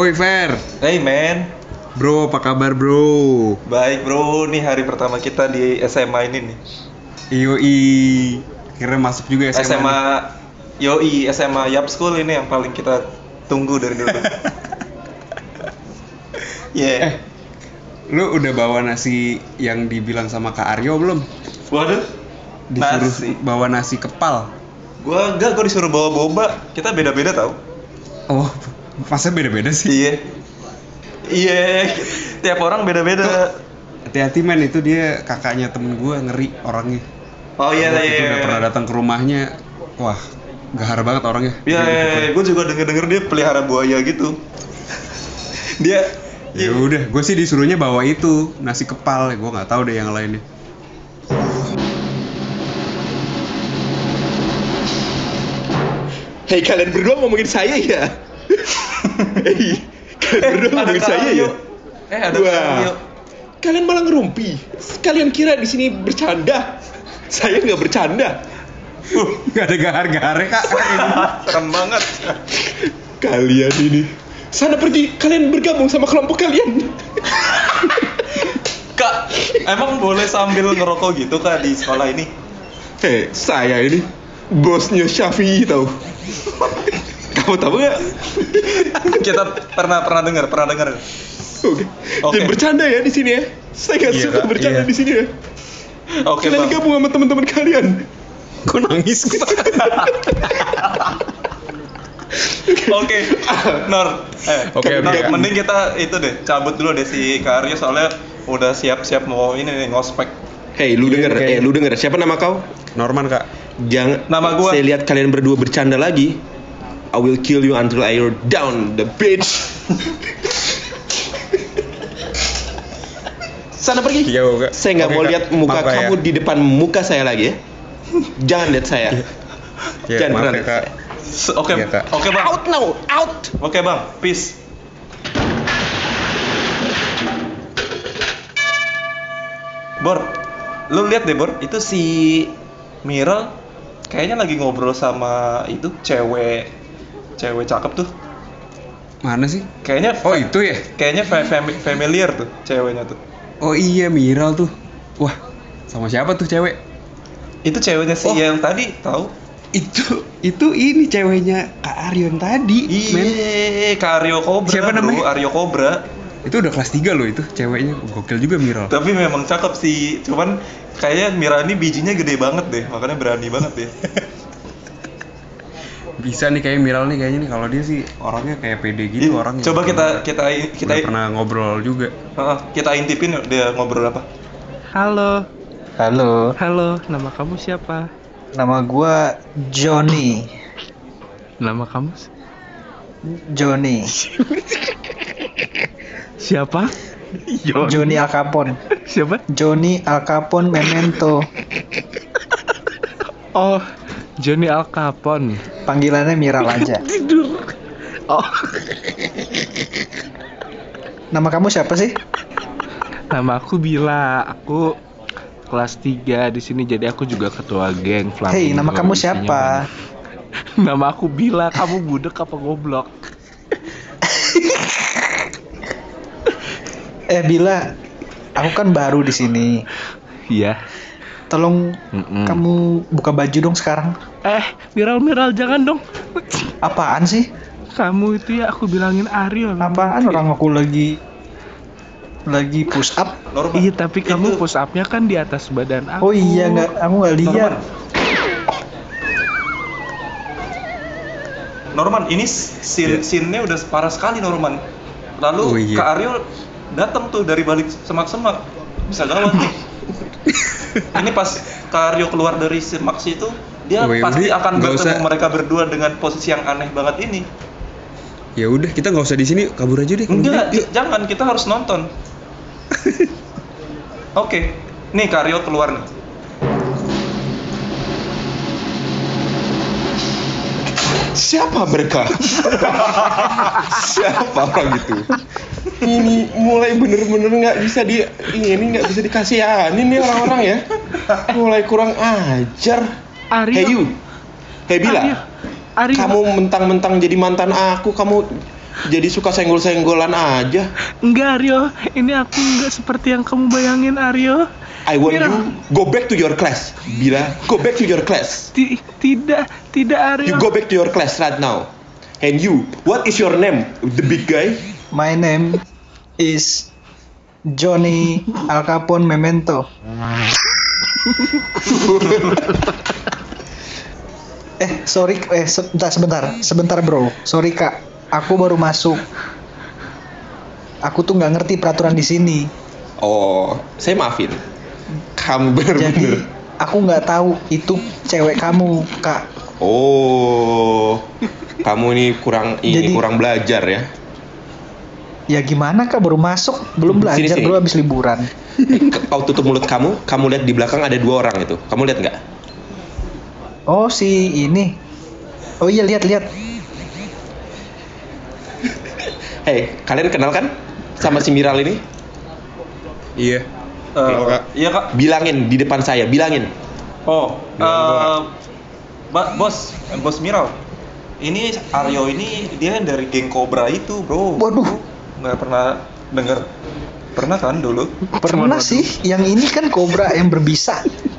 Woi Fer, Hey man, bro apa kabar bro? baik bro, nih hari pertama kita di SMA ini nih. Yoi, akhirnya masuk juga SMA. SMA, yoi, SMA Yap School ini yang paling kita tunggu dari dulu. Yeah. Lu udah bawa nasi yang dibilang sama Kak Aryo belum? Waduh, Disuruh nasi. bawa nasi kepal. Gua disuruh bawa boba. Kita beda-beda tau. Oh, masa beda-beda sih? Iya. Iya, tiap orang beda-beda. Hati-hati men, itu dia kakaknya temen gue, ngeri orangnya. Oh iya, Gua iya. itu udah pernah datang ke rumahnya, wah gahar banget orangnya. Iya, gue juga denger dia pelihara buaya gitu. Dia Ya udah, gue sih disuruhnya bawa itu nasi kepal, gue nggak tahu deh yang lainnya. Hei, kalian berdua ngomongin saya ya? Hei, kalian berdua ngomongin saya ya? Ada Wah, Aryo. kalian malah ngerumpi. Kalian kira di sini bercanda? Saya nggak bercanda. Gak ada gahar-gaharnya kak. Serem banget. Kalian ini, sana pergi. Kalian bergabung sama kelompok kalian. Kak, emang boleh sambil ngerokok gitu kak di sekolah ini? Hei, saya ini bosnya Syafi'i tahu. Kamu tahu nggak? Kita pernah dengar. Oke. Oke. Jangan bercanda ya di sini ya. Saya nggak Iya, suka Kak, bercanda iya. di sini ya. Oke Kalian bang. gabung sama teman-teman kalian. Gue nangis. Oke, Nor. Oke, Nor, oke. mending kita itu deh cabut dulu deh si Kak Aryo soalnya udah siap-siap mau ini nih ngospek. Hei, lu Iya, denger? oke. Lu denger? Siapa nama kau? Norman kak. Jangan. Nama gua. Saya lihat kalian berdua bercanda lagi. I will kill you until you're down the bitch. Sana pergi. Iya, Kak. Saya nggak Oke, mau Kak. lihat muka Maaf, Kak, kamu ya. di depan muka saya lagi ya. Jangan lihat saya. Ya, Jangan maaf pernah ya lihat kak. saya. Oke, Iya, Kak. oke bang. Out now, out. Oke bang, peace. Bor, lu lihat deh Bor, itu si Miral kayaknya lagi ngobrol sama itu cewek cakep tuh. Mana sih? Kayaknya Oh itu ya? kayaknya familiar tuh ceweknya tuh. Oh iya Miral tuh. Wah, sama siapa tuh cewek? Itu ceweknya si Oh. yang tadi tahu? Itu ini ceweknya Kak Aryo yang tadi. Men. Iya, Kak Aryo Cobra. Siapa bro. namanya? Aryo Cobra. Itu udah kelas 3 loh itu ceweknya. Gokil juga Miral. Tapi memang cakep sih. Cuman kayaknya Mira ini bijinya gede banget deh, makanya berani banget deh. Bisa nih kayak Miral nih kayaknya nih, kalau dia sih orangnya kayak pede gitu orangnya. Coba kita Udah pernah ngobrol juga. kita intipin dia ngobrol apa? Halo, Halo, nama kamu siapa? nama gua Johnny. Nama kamu Johnny. siapa? Johnny Al Capone. Siapa? Johnny Al Capone Memento. Oh, Johnny Al Capone. Panggilannya Miral aja. Tidur. Oh, Nama kamu siapa sih? nama aku Bila. Aku kelas 3 di sini, jadi aku juga ketua geng Flamingo. Hei, nama kamu Isinya siapa? banyak. Nama aku Bila. Kamu budek apa goblok? Bila, aku kan baru di sini. Iya. Tolong Mm-mm. kamu buka baju dong sekarang. Miral jangan dong. Apaan sih? Kamu itu ya aku bilangin Aryo. Apaan orang aku lagi push up. Norman. Iya, tapi kamu Itu. push up-nya kan di atas badan aku. Oh iya, aku nggak lihat. Norman, ini scene-nya udah parah sekali Norman. Lalu Oh, iya. Kak Aryo datang tuh dari balik semak-semak. Bisa gawat nih. Ini pas Kak Aryo keluar dari semak situ, dia Oh, ya pasti udah, akan nggak bertemu usah. mereka berdua dengan posisi yang aneh banget ini. Ya udah, kita nggak usah di sini, kabur aja deh. kalau Enggak, gitu. Yuk. jangan, kita harus nonton. Oke, nih Kak Aryo keluar nih. Siapa mereka? Siapa orang itu? Ini mulai bener-bener nggak bisa nggak bisa dikasihanin nih orang-orang ya. Mulai kurang ajar. Aryo. Hey you, hey Bila, Aryo. kamu mentang-mentang jadi mantan aku, kamu Jadi suka senggol-senggolan aja. Enggak Aryo, ini aku enggak seperti yang kamu bayangin Aryo. I want Mira. you go back to your class. Bila, go back to your class. Tidak Aryo. You go back to your class right now. And you, what is your name? The big guy? My name is Johnny Al Capone Memento. Sorry, sebentar bro. Sorry kak, aku baru masuk. Aku tuh nggak ngerti peraturan di sini. Oh, saya maafin. Kamu Jadi bener-bener. aku nggak tahu itu cewek kamu kak. Oh, kamu ini Jadi- kurang belajar ya. Ya gimana kak, baru masuk, belum belajar, Sini. belum habis liburan. Kau tutup mulut kamu lihat di belakang ada 2 orang itu. Kamu lihat nggak? Oh si ini. Oh iya lihat. Hei, kalian kenal kan sama si Miral ini? Iya. Eh, Kak. iya kak. Bilangin di depan saya, bilangin. Oh, Bilang bos Miral. Ini Aryo ini dia dari geng Cobra itu, bro. Waduh. Nggak pernah denger. Pernah kan dulu? Pernah sih, yang ini kan kobra yang berbisa.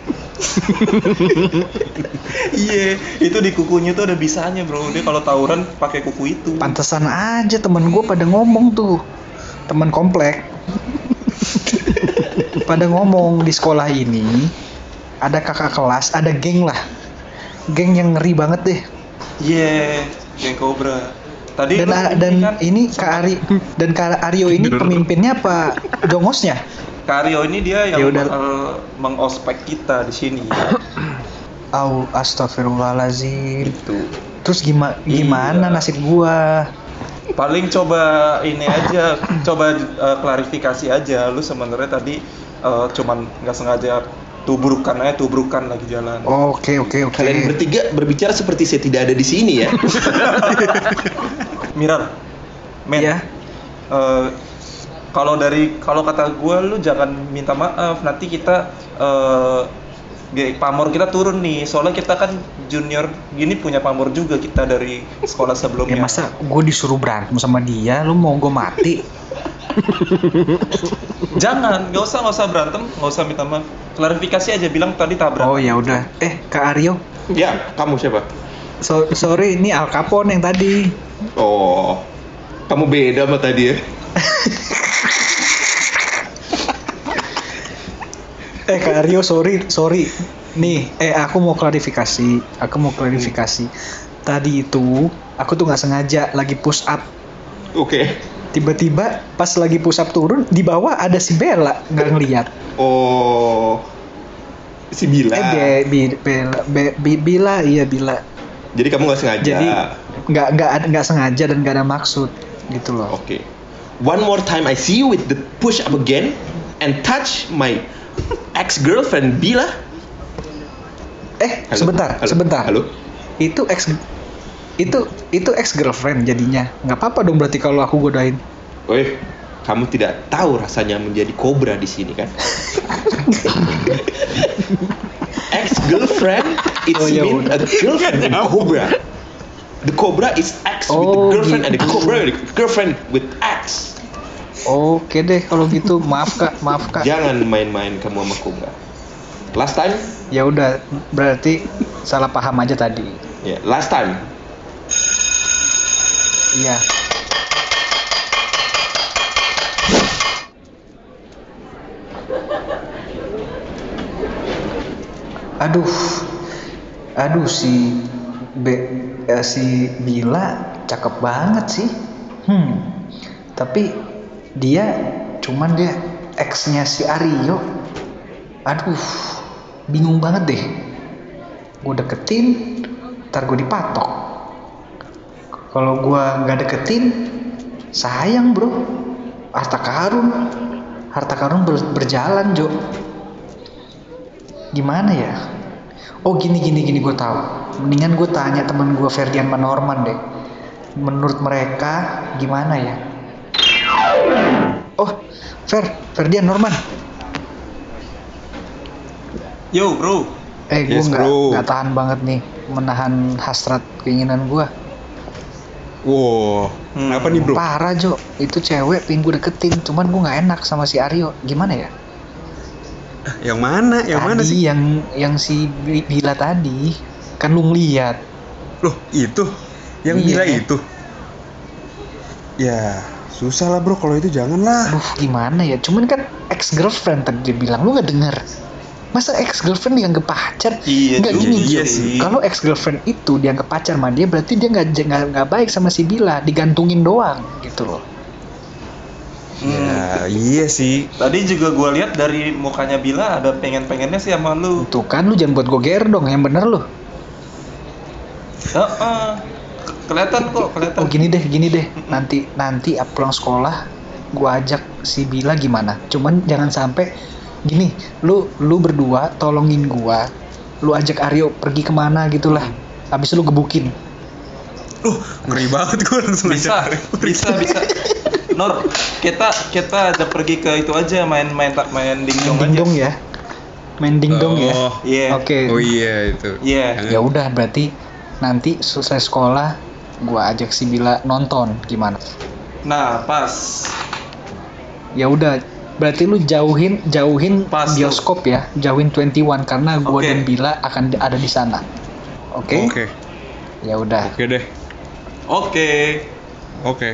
Iya, itu di kukunya tuh ada bisanya, bro. Dia kalau tawuran pakai kuku itu. Pantesan aja temen gue pada ngomong tuh, temen komplek. Pada ngomong di sekolah ini ada kakak kelas, ada geng lah, geng yang ngeri banget deh. Iya, geng Cobra. Tadi Dan lu dan kan, ini Kak Aryo ini pemimpinnya apa jongosnya? Kak Aryo ini dia yang Yaudah. bakal mengospek kita di sini. Astagfirullahalazim. Itu. Terus gimana Iya. nasib gua? Paling coba ini aja, coba klarifikasi aja. Lu sebenarnya tadi cuman nggak sengaja tubrukan lagi jalan. Oke. Kalian bertiga berbicara seperti saya tidak ada di sini ya. Miral, men. Iya. Kalau kata gue lu jangan minta maaf, nanti kita pamor kita turun nih, soalnya kita kan junior gini punya pamor juga kita dari sekolah Ya sebelumnya. masa gue disuruh berantem sama dia, lu mau gue mati? Jangan, nggak usah berantem, nggak usah minta maaf, klarifikasi aja, bilang tadi tabrak. Oh ya udah. Kak Aryo, Ya, kamu siapa? sorry ini Al Capone yang tadi. Oh, kamu beda sama tadi ya. Kak Aryo sorry. Nih, aku mau klarifikasi. Tadi itu aku tuh nggak sengaja lagi push up. Oke. Tiba-tiba pas lagi push up turun di bawah ada si Bella, nggak ngeliat. Oh, si Bila. Bila, iya Bila. Jadi kamu nggak sengaja. Jadi nggak sengaja dan nggak ada maksud gitu loh. Oke. One more time I see you with the push up again and touch my ex girlfriend Bila. Halo? Sebentar. Halo. Itu ex girlfriend jadinya. Nggak apa-apa dong berarti kalau aku godain. Woi, kamu tidak tahu rasanya menjadi kobra di sini kan? Ex girlfriend, it's Oh, ya mean udah. a girlfriend and cobra. The cobra is ex with the Oh, girlfriend and the gitu. cobra with the girlfriend with ex. Oke deh kalau gitu, maaf kak. Jangan main-main kamu sama kobra. Last time, Ya udah, berarti salah paham aja tadi. ya, last time. Iya. Aduh si Bila cakep banget sih. Tapi dia ex-nya si Aryo. Aduh, bingung banget deh. Gue deketin, ntar gue dipatok. Kalau gue nggak deketin, sayang bro. Harta karun berjalan Jo. Gimana ya? Oh gini gue tahu. Mendingan gue tanya temen gue Ferdian Manorman deh. Menurut mereka gimana ya? Oh, Ferdian Norman. Yo bro, Yes, Gue bro. nggak tahan banget nih menahan hasrat keinginan gue. Wow, kenapa nih bro? Parah Jo, itu cewek pengen gue deketin, cuman gue nggak enak sama si Aryo. Gimana ya? Yang mana? Yang mana Tadi sih? yang si Bila tadi, kan lu ngeliat. Loh, itu? Yang Iya. Bila itu? Ya, susah lah bro, kalau itu jangan lah. Aduh gimana ya? Cuman kan ex girlfriend tadi dia bilang, lu nggak denger? Masa ex girlfriend dianggap pacar? Iya Nggak juga, gini. iya sih. Kalau ex girlfriend itu dianggap pacar sama dia, berarti dia nggak baik sama si Bila, digantungin doang gitu loh. Ya, iya sih. Tadi juga gue lihat dari mukanya Bila ada pengen-pengennya sih sama lu. Tuh kan lu jangan buat gue GR dong, yang bener lu. Heeh. Kelihatan kok, kelihatan. Oh gini deh. Nanti pulang sekolah gua ajak si Bila gimana? Cuman jangan sampai gini, lu berdua tolongin gua. Lu ajak Aryo pergi kemana gitu lah. Habis itu lu gebukin. Ngeri banget gue langsung Bisa, aja. bisa. Nor, kita ajak pergi ke itu aja main dingdong aja. Dingdong ya. Main dingdong ya. Oh, Iya. Oke. oh iya itu. Iya. Ya udah berarti nanti selesai sekolah gua ajak si Bila nonton gimana? Nah, pas. Ya udah berarti lu jauhin Pas tuh. bioskop ya, jauhin 21 karena gua Oke. dan Bila akan ada di sana. Oke? Oke, Ya udah. oke deh. Oke. Oke.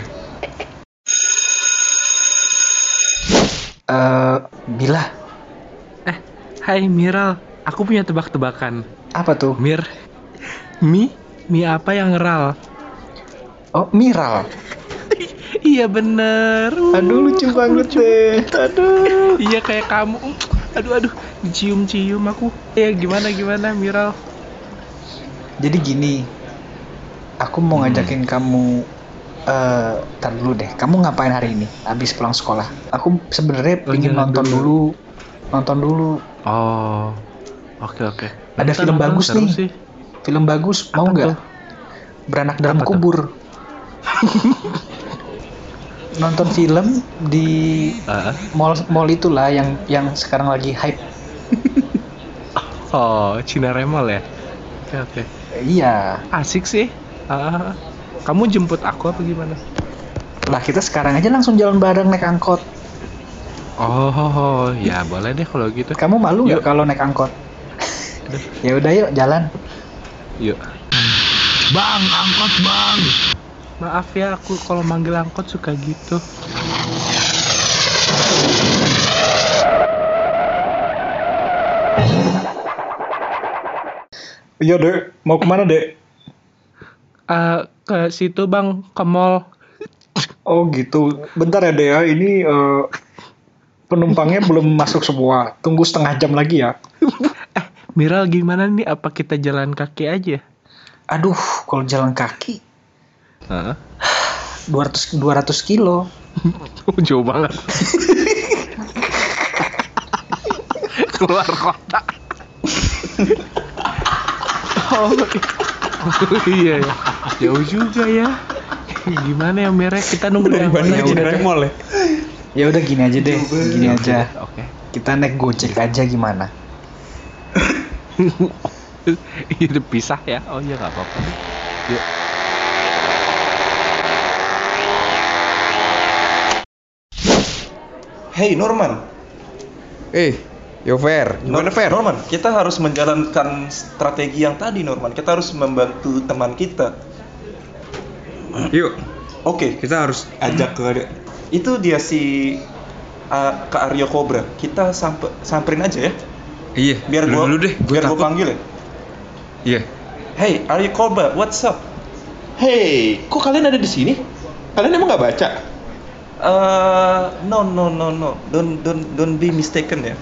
Bila, Hai Miral, aku punya tebak-tebakan. apa tuh? Mir, mie apa yang ngeral? Oh, Miral. Iya bener. Aduh lucu banget deh. Aduh. Iya kayak kamu. Aduh, dicium-cium aku. Ya gimana Miral? Jadi gini, aku mau ngajakin kamu. Tar dulu deh. Kamu ngapain hari ini? Abis pulang sekolah. Aku sebenarnya Oh, pingin jalan nonton dulu. dulu. Oh, oke. Ada film bagus seru nih. sih. Film bagus. Mau Apa nggak? tuh? Beranak dalam Apa tuh? kubur. Nonton film di mall itulah yang sekarang lagi hype. Oh, Cina Remol ya? Oke. Iya. Asik sih. Kamu jemput aku apa gimana? Lah kita sekarang aja langsung jalan bareng naik angkot. Oh, ya boleh deh kalau gitu. Kamu malu nggak Yuk. kalau naik angkot? Ya udah yuk jalan. Yuk. Bang, angkot bang. Maaf ya, aku kalau manggil angkot suka gitu. Iya dek, mau kemana dek? Ke situ bang, ke mall. Oh gitu. Bentar ya dek ya, ini penumpangnya belum masuk semua. Tunggu setengah jam lagi ya. Miral gimana nih? Apa kita jalan kaki aja? Aduh, kalau jalan kaki Heeh. 200 kilo. Jauh banget. Keluar kota. Oh iya ya. Jauh juga ya. Gimana ya merek? Kita nunggu Dari yang Bandung mana? ke Cina Remol ya. Ya udah gini aja deh, gini aja. Oke. Kita naik Gojek aja gimana? Itu pisah ya? Oh iya nggak apa-apa. Yuk. Hey Norman. Yover, gimana Fer? Norman, kita harus menjalankan strategi yang tadi Norman. Kita harus membantu teman kita. Yuk, Oke, kita harus ajak ke itu dia si Kak Aryo Cobra. Kita samperin aja ya. Iya, Biar dulu gua deh, gue biar gua takut. panggil ya. Iya. Hey, Aryo Cobra, what's up? Hei, kok kalian ada di sini? Kalian emang nggak baca? No. Don't be mistaken ya.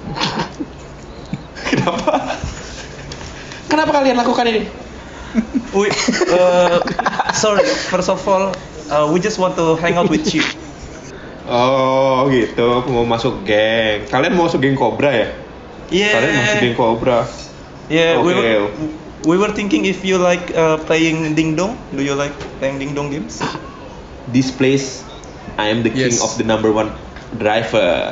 Kenapa kalian lakukan ini? We, sorry. First of all, we just want to hang out with you. Oh gitu, aku mau masuk geng. Kalian mau masuk geng Cobra ya? Yeah. Kalian mau masuk geng Cobra. Yeah. Okay. We were thinking if you like playing ding dong. Do you like playing ding dong games? This place, I am the king Yes. of the number one driver.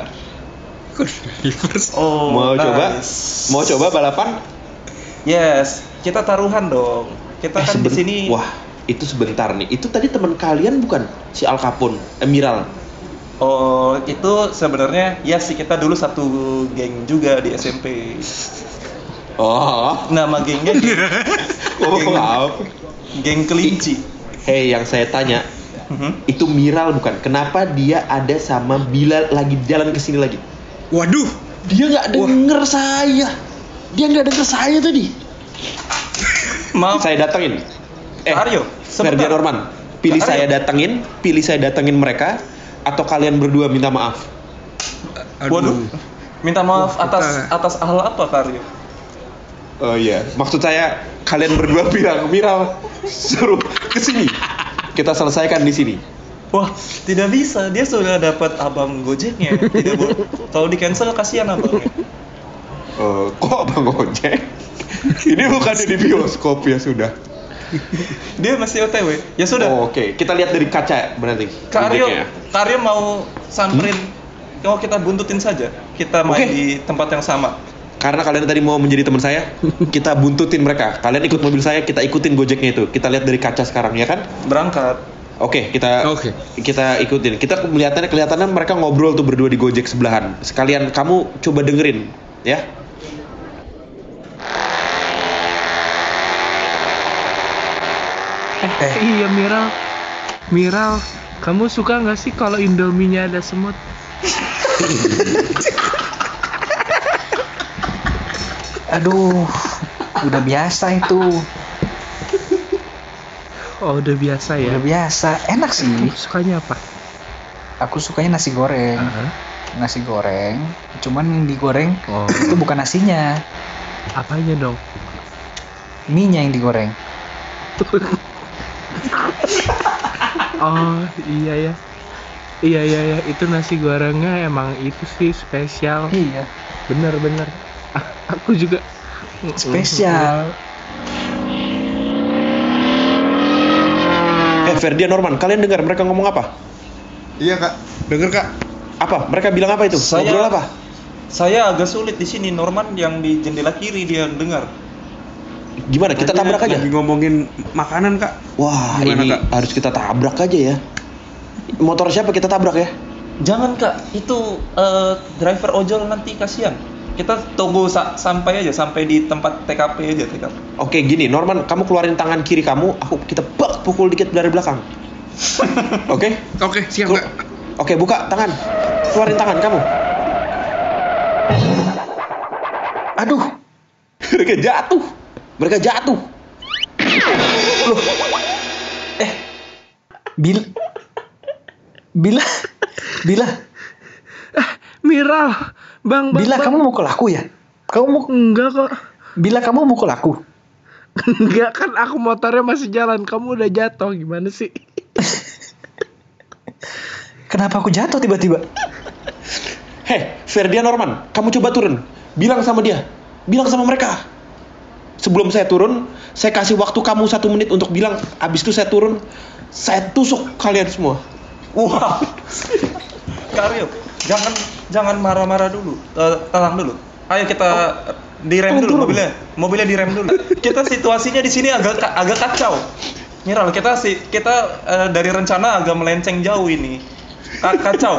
Oh, Mau coba? nice. Mau coba balapan? Yes. Kita taruhan dong. Kita kan di sini. Wah, itu sebentar nih. Itu tadi teman kalian bukan si Al Capone, Miral? Oh, itu sebenarnya ya sih kita dulu satu geng juga di SMP. Oh, Nama gengnya maaf. geng kelinci. Hei, yang saya tanya, Mhm. itu Miral bukan? Kenapa dia ada sama Bila lagi jalan ke sini lagi? Waduh, Dia nggak denger saya. Dia nggak denger saya tadi. Maaf, Saya datengin. Aryo, Ferdian Norman, pilih Kak Aryo. saya datengin mereka, atau kalian berdua minta maaf? Waduh, minta maaf Wah, atas hal apa, Aryo? Oh iya, maksud saya kalian berdua bilang Miral suruh ke sini. Kita selesaikan di sini. Wah, tidak bisa. Dia sudah dapat abang Gojeknya. Tidak boleh. Kalau di cancel kasihan abangnya. Kok Bang Ojek? Ini bukannya di bioskop ya sudah. Dia masih OTW. Ya sudah. Oh, oke. Kita lihat dari kaca berarti. Kak Gojeknya. Aryo mau samperin. Oh, kita buntutin saja. Kita main Oke. di tempat yang sama. Karena kalian tadi mau menjadi teman saya, kita buntutin mereka. Kalian ikut mobil saya, kita ikutin Gojeknya itu. Kita lihat dari kaca sekarang ya kan? Berangkat. Oke, Oke. kita ikutin. Kita kelihatannya mereka ngobrol tuh berdua di Gojek sebelahan. Sekalian kamu coba dengerin, ya. Iya Miral, kamu suka nggak sih kalau Indominya ada semut? Aduh, udah biasa itu. Oh udah biasa ya. Udah biasa. Enak sih. Sukanya apa? Aku sukanya nasi goreng. Aha. Nasi goreng. Cuman yang digoreng Oh, itu bukan nasinya, apanya dong? mie-nya yang digoreng. Oh iya ya. Iya itu nasi gorengnya emang itu sih spesial. Iya, Bener. Aku juga spesial. Ferdian Norman, kalian dengar mereka ngomong apa? Iya kak, denger kak. Apa? Mereka bilang apa itu? Saya- Ngobrol apa? Saya agak sulit di sini. Norman yang di jendela kiri dia dengar. Gimana? Kita tabrak aja. Lagi ngomongin makanan kak. Wah, Gimana, ini Kak? harus kita tabrak aja ya. Motor siapa kita tabrak ya? Jangan Kak, itu driver ojol nanti kasihan. Kita tunggu sampai aja, sampai di tempat TKP aja TKP. Oke, gini, Norman, kamu keluarin tangan kiri kamu, kita pukul dikit dari belakang. Oke? Oke, siap Kelu- kak. Oke, buka tangan. Keluarin tangan kamu. Aduh, Mereka jatuh. loh. Bila Miral, bang. kamu mukul aku ya? Enggak kok. Bila kamu mukul aku. Enggak kan aku motornya masih jalan, kamu udah jatuh gimana sih? Kenapa aku jatuh tiba-tiba? Hei, Ferdian Norman, kamu coba turun. Bilang sama dia. Bilang sama mereka. Sebelum saya turun, saya kasih waktu kamu 1 menit untuk bilang. Abis itu saya turun, saya tusuk kalian semua. Wah, Karyo, jangan marah-marah dulu, tenang dulu. Ayo kita direm dulu mobilnya direm dulu. Kita situasinya di sini agak kacau. Miral, kita dari rencana agak melenceng jauh ini. Kacau.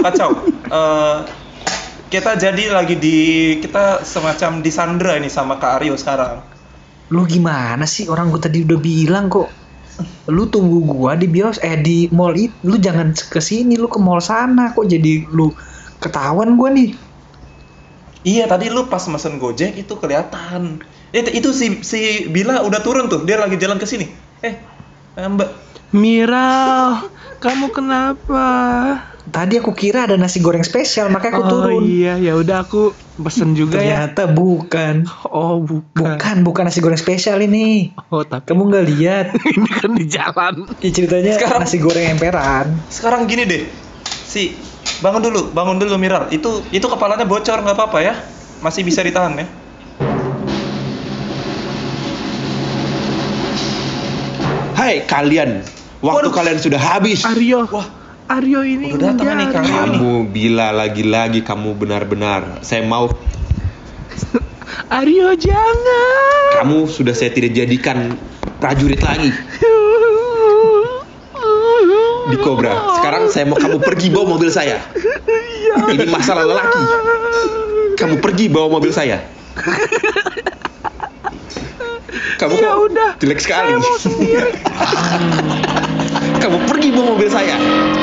Kita semacam disandra ini sama Kak Aryo sekarang. Lu gimana sih? Orang gua tadi udah bilang kok. Lu tunggu gua di di mall itu. Lu jangan ke sini, lu ke mall sana. Kok jadi lu ketahuan gua nih? Iya, tadi lu pas mesen Gojek itu kelihatan. Itu si Bila udah turun tuh, dia lagi jalan ke sini. Mbak. Miral, kamu kenapa? Tadi aku kira ada nasi goreng spesial, makanya aku turun. Iya, ya udah aku pesen juga ya. Ternyata bukan. Oh, Bukan nasi goreng spesial ini. Oh, tapi Kamu nggak lihat? ini kan di jalan. Ya, ceritanya Sekarang- nasi goreng emperan. Sekarang gini deh. Bangun dulu Miral. Itu kepalanya bocor nggak apa-apa ya. Masih bisa ditahan ya. Hai kalian, waktu Waduh. kalian sudah habis. Aryo ini Udah datang nih, Kang Aryo. Kamu bila lagi-lagi kamu benar-benar. Saya mau Aryo jangan. kamu sudah saya tidak jadikan prajurit lagi. di Cobra. Sekarang saya mau kamu pergi bawa mobil saya. Ini masalah lelaki. Kamu pergi bawa mobil saya. Kamu Ya kok udah, jelek sekali. saya mau sendiri. Kamu pergi bawa mobil saya.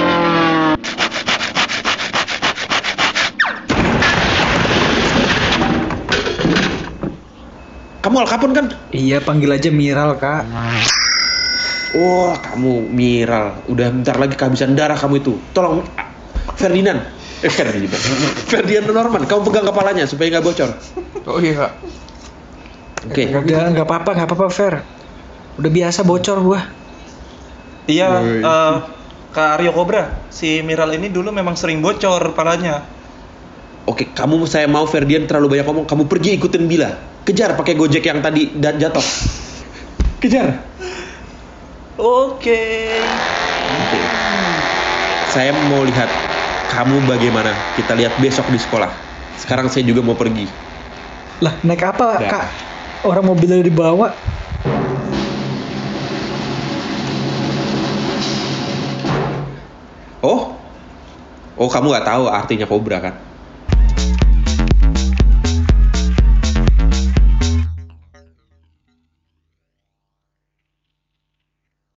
Kamu Al Capone kan? Iya, panggil aja Miral, Kak. Oh, kamu Miral. Udah bentar lagi kehabisan darah kamu itu. Tolong Ferdinand. Ferdinand. Ferdinand Norman, kamu pegang kepalanya supaya nggak bocor. Oh iya. Oke. Udah, nggak apa-apa, Fer. Udah biasa bocor gua. Iya, Woi. Kak Aryo Cobra, si Miral ini dulu memang sering bocor palanya. Oke, saya mau Ferdian terlalu banyak ngomong. Kamu pergi ikutin Bila. Kejar pakai Gojek yang tadi jatuh. Kejar. Oke. Oke. Saya mau lihat kamu bagaimana. Kita lihat besok di sekolah. Sekarang saya juga mau pergi. Lah, naik apa, Udah. Kak? Orang mobilnya dibawa. Oh, kamu nggak tahu artinya kobra kan?